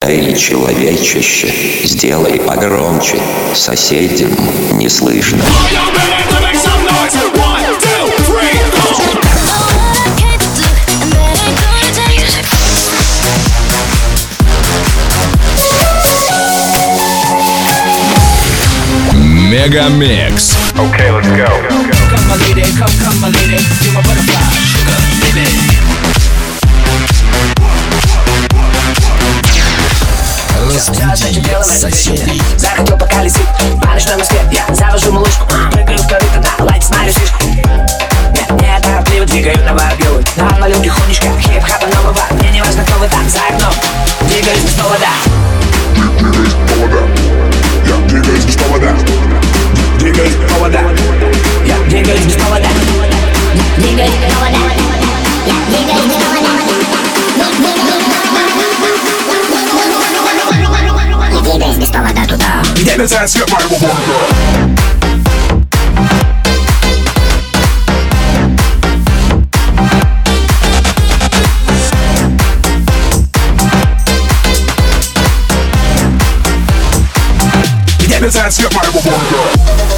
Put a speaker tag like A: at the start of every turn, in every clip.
A: Эй, человечище, сделай погромче, соседям не слышно.
B: Мегамикс.
C: Okay, let's go.
D: Come my lady, come my lady, you're my butterfly, sugar, baby.
B: Разбуди соседей.
D: Захотел поколесить по ночной Москве. Я завожу малышку, прыгаю в корыто, да, лайк, смотрю фишку. Не торопливо двигаю на варгилы. Навалю тихонечко, хип-хапа нового. Мне не важно, кто вы там за окном. Двигаюсь без повода.
E: Я двигаюсь без повода.
D: Двигаюсь без повода. Я двигаюсь без повода.
F: Двигаюсь без повода. Я двигаюсь без повода. Я двигаюсь без повода туда,
E: где мерцает свет моего города. Мерцает свет моего города.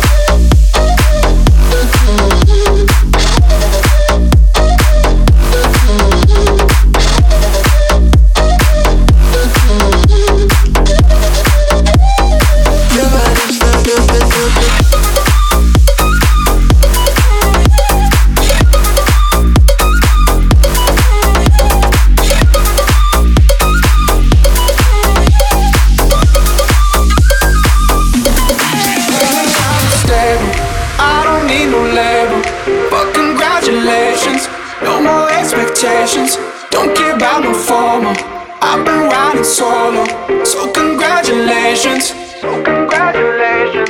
D: Don't care about no formal. I've been riding solo, so congratulations. So congratulations.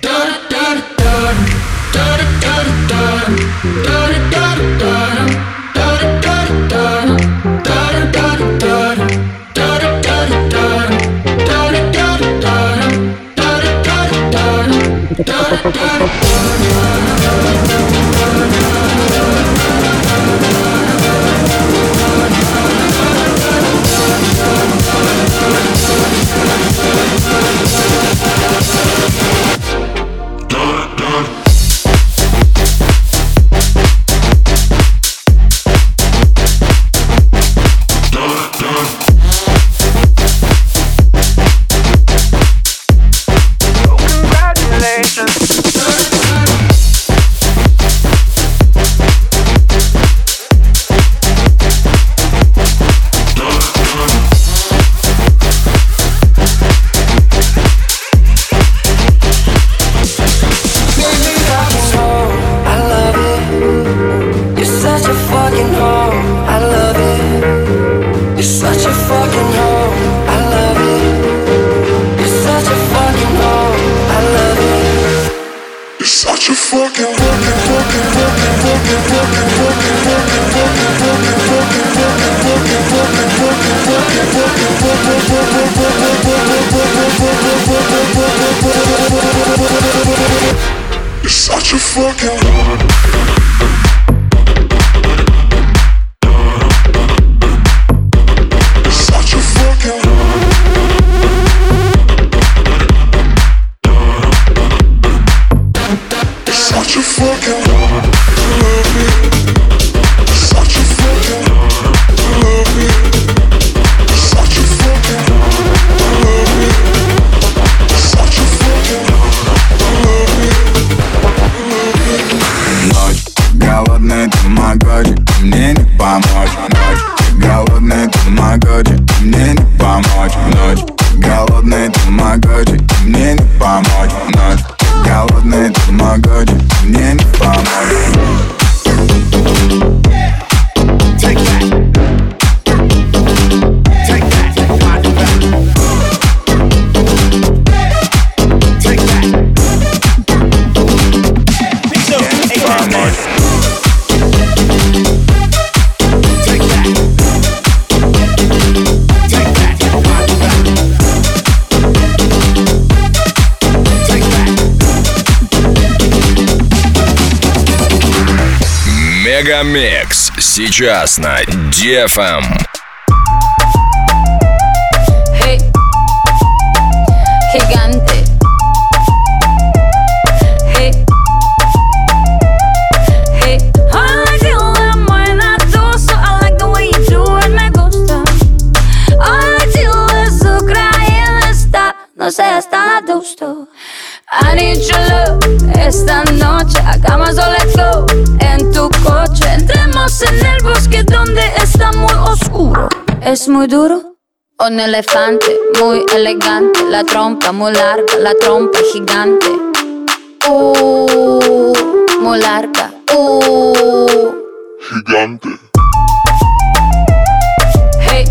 D: Such a fucking
B: Мегамикс сейчас на DFM.
G: Hey.
F: no seas tan adusto. I need your love, esta noche hagamos o let's go. En tu coche entremos en el bosque donde está muy oscuro. Es muy duro. Un elefante muy elegante, la trompa muy larga, la trompa gigante. Muy larga.
E: Gigante.
F: Hey,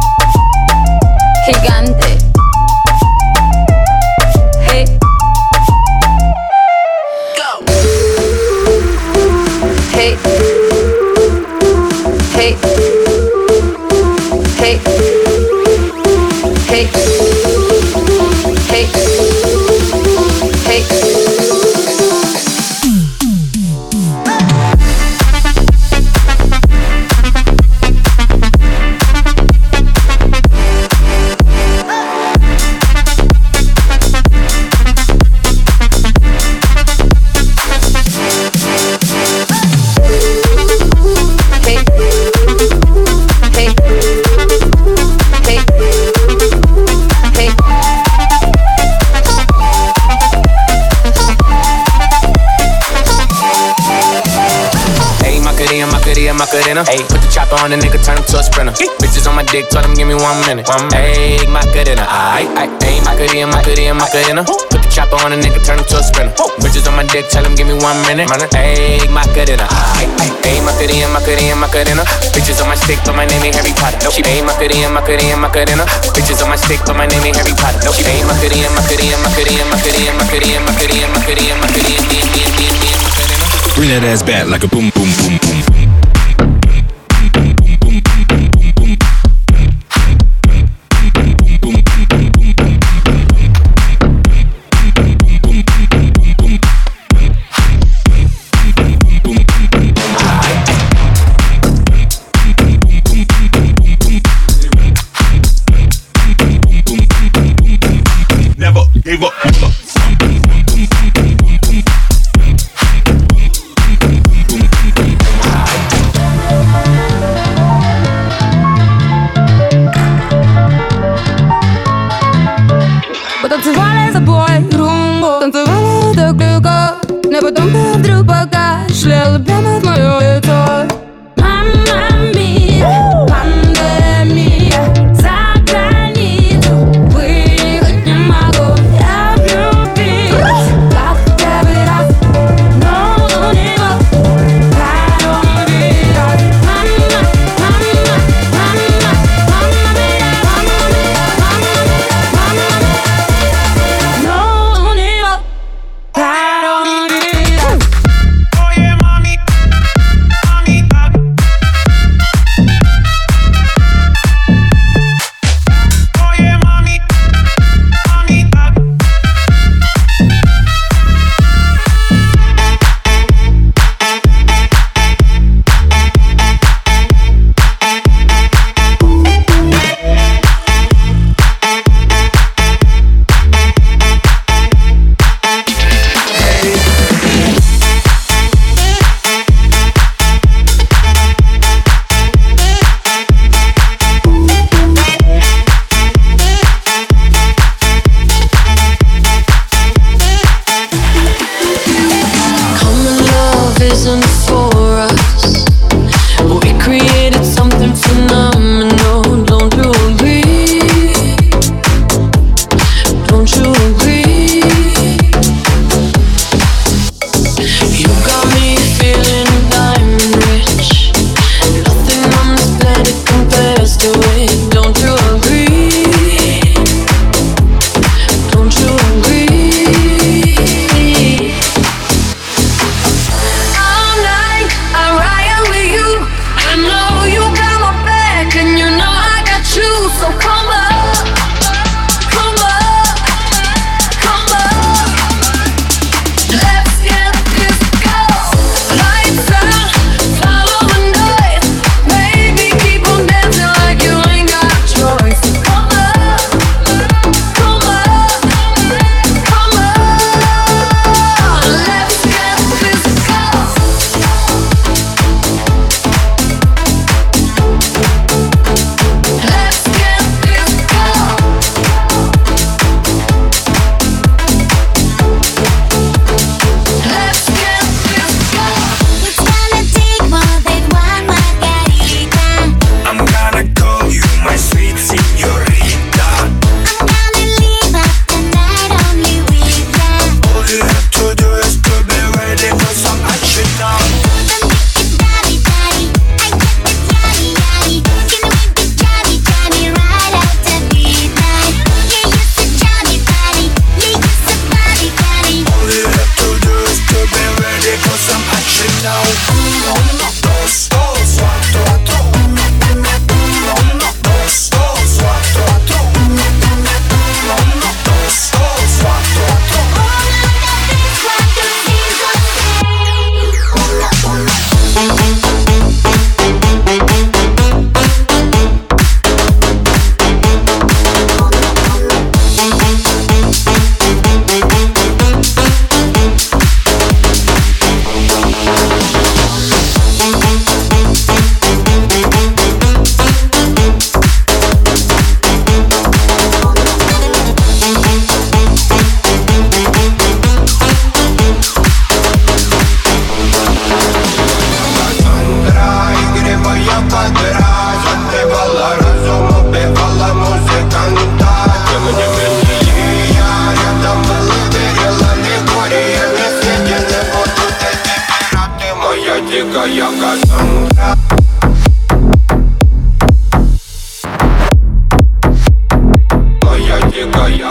F: gigante. Hey,
D: Go.
F: hey, hey, hey, hey, hey, hey.
C: Macarena. Ayy, put the chopper on the nigga, turn him to a sprinter. Bitches on my dick, tell them give me 1 minute. Ayy, Macarena. Ayy, Macarena. Put the chopper on the nigga, turn him to a sprinter. Bitches on my dick, tell them give me 1 minute. Ayy, Macarena. Ayy, Macarena. Bitches on my stick, but my name ain't Harry Potter. No, she ayy, Macarena. Bitches on my stick, but my name ain't Harry Potter. No, she ayy, Macarena.
B: Bring that ass back like a boom, boom, boom, boom, boom.
E: Never gave up.
G: Потанцевали за бой румбу, танцевали так легко. Не потом ты вдруг покашлял прямо в моё лицо. Мамма мия, пандемия, за границу выехать не могу. Я влюбилась, как первый раз, но у него коронавирус. Мамма мия, но у него коронавирус.
C: Oh yeah, mommy.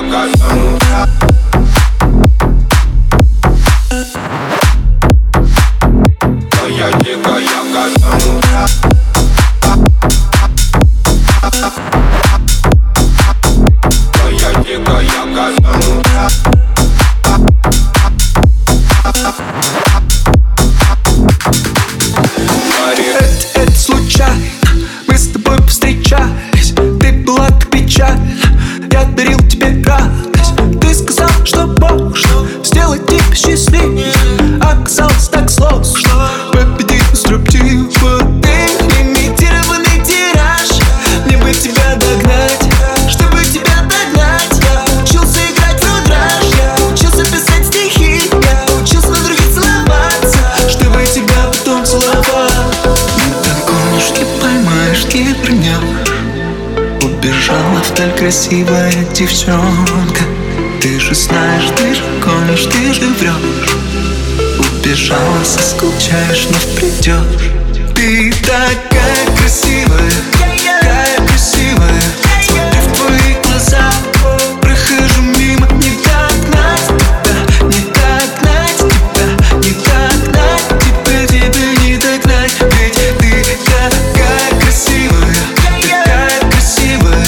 H: Красивая девчонка, ты же знаешь, ты же гонишь, ты же врешь. Убежала, соскучаешь, но придешь. Ты такая красивая, такая красивая. Смотрю в твои глаза, прохожу мимо. Не догнать тебя, не догнать тебя, не догнать тебя, тебя не догнать. Ведь ты такая красивая, такая красивая.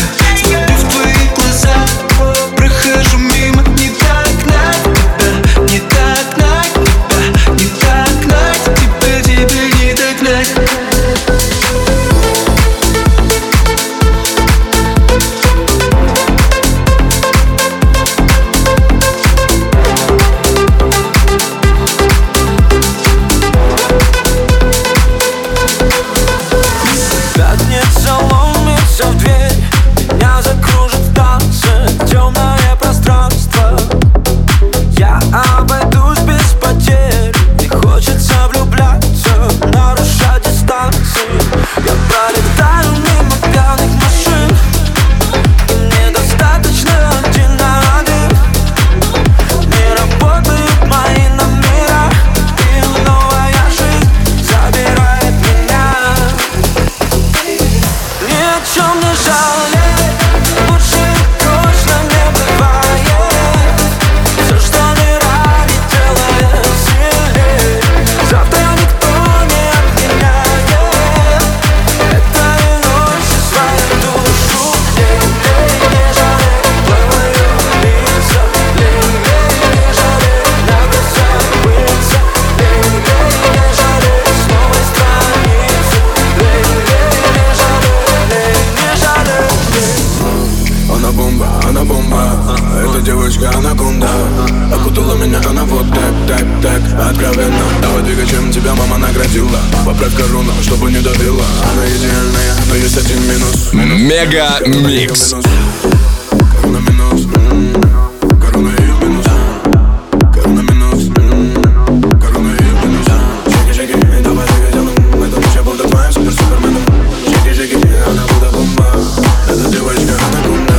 H: Прохожу мимо, не догнать тебя, не догнать тебя, не догнать тебя, тебя не догнать.
I: Пятница ломится в дверь, меня закружит в танце темное пространство. Я обойдусь без потерь, не хочется влюбляться, нарушать дистанции. Я пролетаю мимо пьяных машин, и мне достаточно один на один. Не работают мои номера, и новая жизнь забирает меня. Ни о чем не жалею, лучше точно не бывает. Все, что не ради, делает сильнее. Завтра никто не отменяет. Это и ночью свою душу. Не жалею твою лицо. Не жалею на глазах пыльца. Не жалею с новой страницы. Не жалею.
J: Она бомба, эта девочка анаконда. Окутала меня она вот так, откровенно. Давай двигай, чем тебя мама наградила. Поправь корону, чтобы не давила. Она идеальная, но есть один минус.
B: Мега Микс.
J: Корона минус, корона ее минус. Корона минус, корона ее минус. Шаги, давай двигай, это ночь, я буду твоим суперменом. Шаги, она будет бомба. Эта девочка анаконда.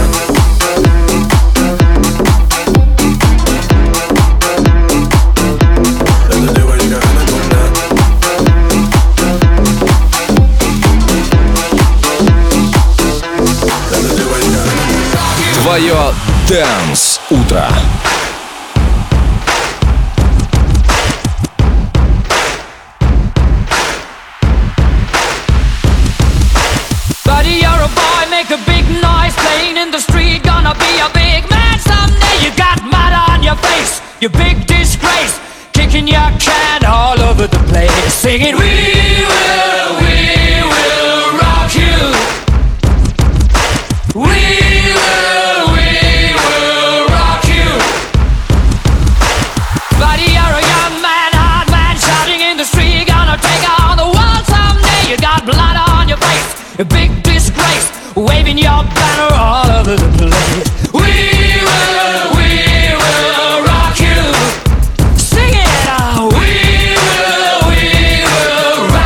B: Твое Dance утро.
K: Buddy, you're a boy, make a big noise, playing in the street, gonna be a big man someday. You got mud on your face, you big disgrace, kicking your can all over the place, singing we will rock you. We will rock you. Buddy, you're a young man, hard man, shouting in the street, gonna take on the world someday. You got blood on your face, a big disgrace, waving your banner all over the place. We will rock you. Sing it out. We will rock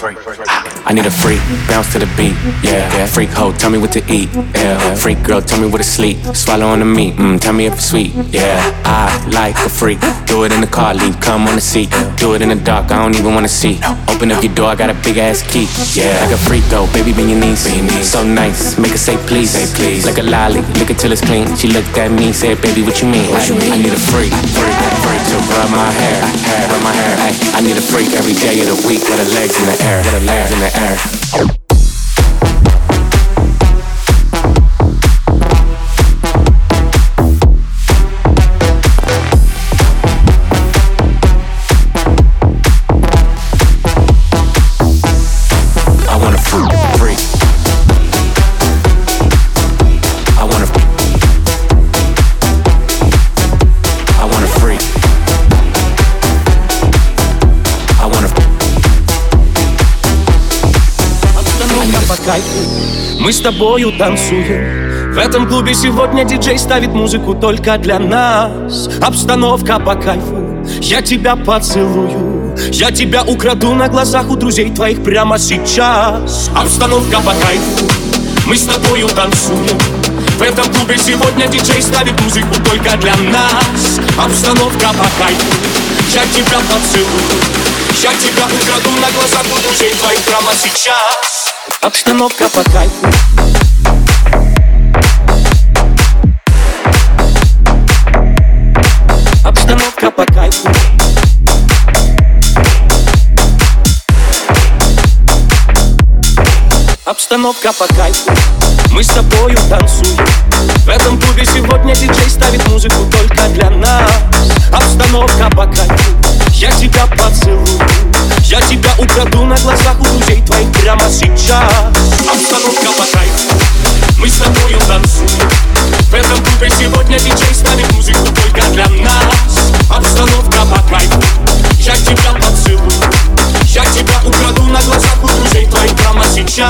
C: I need a freak, bounce to the beat, yeah. Freak hoe, tell me what to eat, yeah. Freak girl, tell me where to sleep. Swallow on the meat, tell me if it's sweet, yeah. I like a freak, do it in the car, leave, come on the seat. Do it in the dark, I don't even wanna see. Open up your door, I got a big ass key, yeah. Like a freak though, baby, bend your knees. So nice, make her say please. Like a lolly, lick it till it's clean. She looked at me, said, baby, what you mean? I need a freak to rub my hair. I need a freak every day of the week with her legs in the air. I want a freak.
I: Мы с тобою танцуем. В этом клубе сегодня диджей ставит музыку только для нас. Обстановка по кайфу. Я тебя поцелую. Я тебя украду на глазах у друзей твоих прямо сейчас. Обстановка по кайфу. Мы с тобою танцуем. В этом клубе сегодня диджей ставит музыку только для нас. Обстановка по кайфу. Я тебя поцелую. Я тебя украду на глазах у друзей твоих прямо сейчас. Обстановка по кайфу. Обстановка по кайфу. Обстановка по кайфу. Мы с тобою танцуем. В этом клубе сегодня диджей ставит музыку только для нас. Обстановка по кайфу. Я тебя поцелую. Я тебя украду на глазах у друзей твоих прямо сейчас. Обстановка по кайфу. Мы с тобою танцуем. В этом клубе сегодня диджей ставит музыку только для нас. Обстановка по кайфу. Я тебя поцелую. Я тебя украду на глазах у друзей твоих прямо сейчас.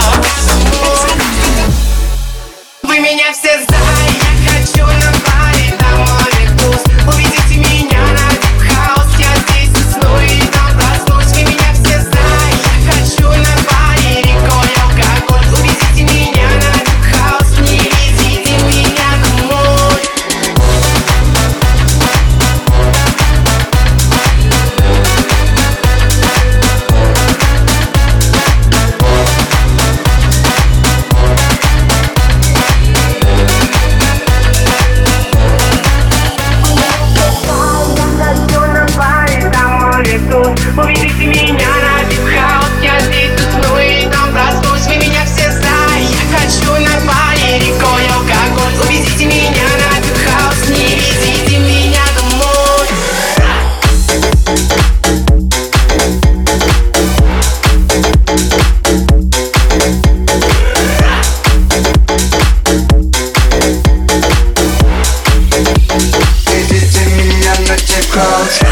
L: Вы меня все знаете, я хочу на паре, там море вкус. Увидите меня на Deep House, я здесь усну и там проснусь. Вы меня все знаете, я хочу на паре, рекой алкоголь. Увидите меня на Deep House, не везите меня домой. Увидите меня на Deep House, я здесь усну и там проснусь. Вы меня все знаете, я хочу на паре, рекой алкоголь. Увидите меня на Deep House, не везите меня домой.
H: Ведите меня на Deep House.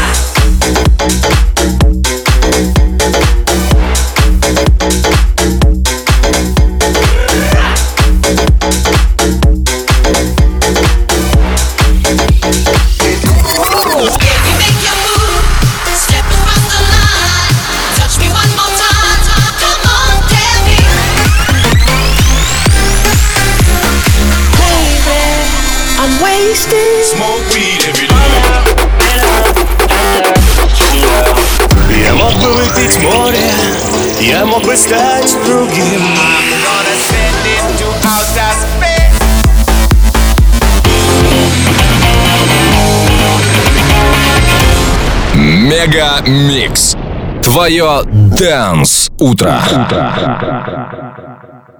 I: Smoke weed every day. Я мог бы выпить море, я мог бы стать другим.
B: Мега Микс. Твое Dance утро.